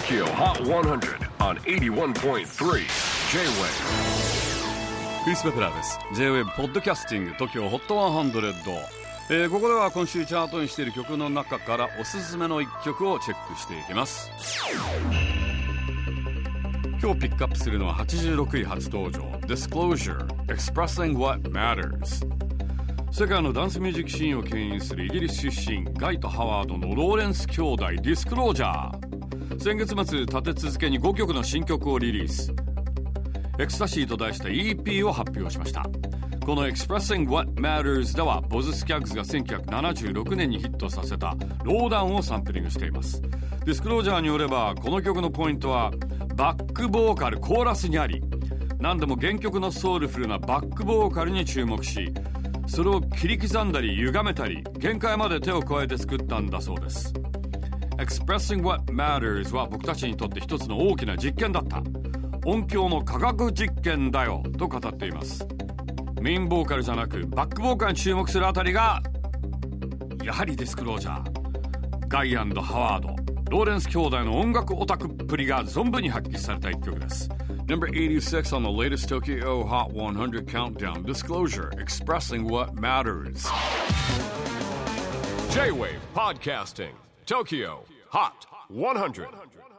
TOKYO HOT 100 on 81.3 J-WAVE クリス・ベプラーです。 J-WAVE ポッドキャスティング TOKYO HOT 100、ここでは今週チャートにしている曲の中からおすすめの一曲をチェックしていきます。今日ピックアップするのは86位初登場 Disclosure Expressing What Matters。 世界のダンスミュージックシーンを牽引するイギリス出身ガイとハワードのローレンス兄弟 Disclosure。 先月末立て続けに5曲の新曲をリリース。エクスタシーと題した EP を発表しました。この Expressing What Matters ではボズ・スキャッグズが1976年にヒットさせたローダウンをサンプリングしています。ディスクロージャーによればこの曲のポイントはバックボーカルコーラスにあり、何でも原曲のソウルフルなバックボーカルに注目し、それを切り刻んだり歪めたり限界まで手を加えて作ったんだそうです。 Expressing What Matters は僕たちにとって一つの大きな実験だった、音響の科学実験だよと語っています。メインボーカルじゃなくバックボーカルに注目するあたりがやはりディスクロージャー。ガイ&ハワード、ローレンス兄弟の音楽オタクっぷりが存分に発揮された一曲です。 Number 86 on the latest Tokyo Hot 100 countdown, Disclosure Expressing What Matters. J-WAVE PODCASTING TOKYO HOT 100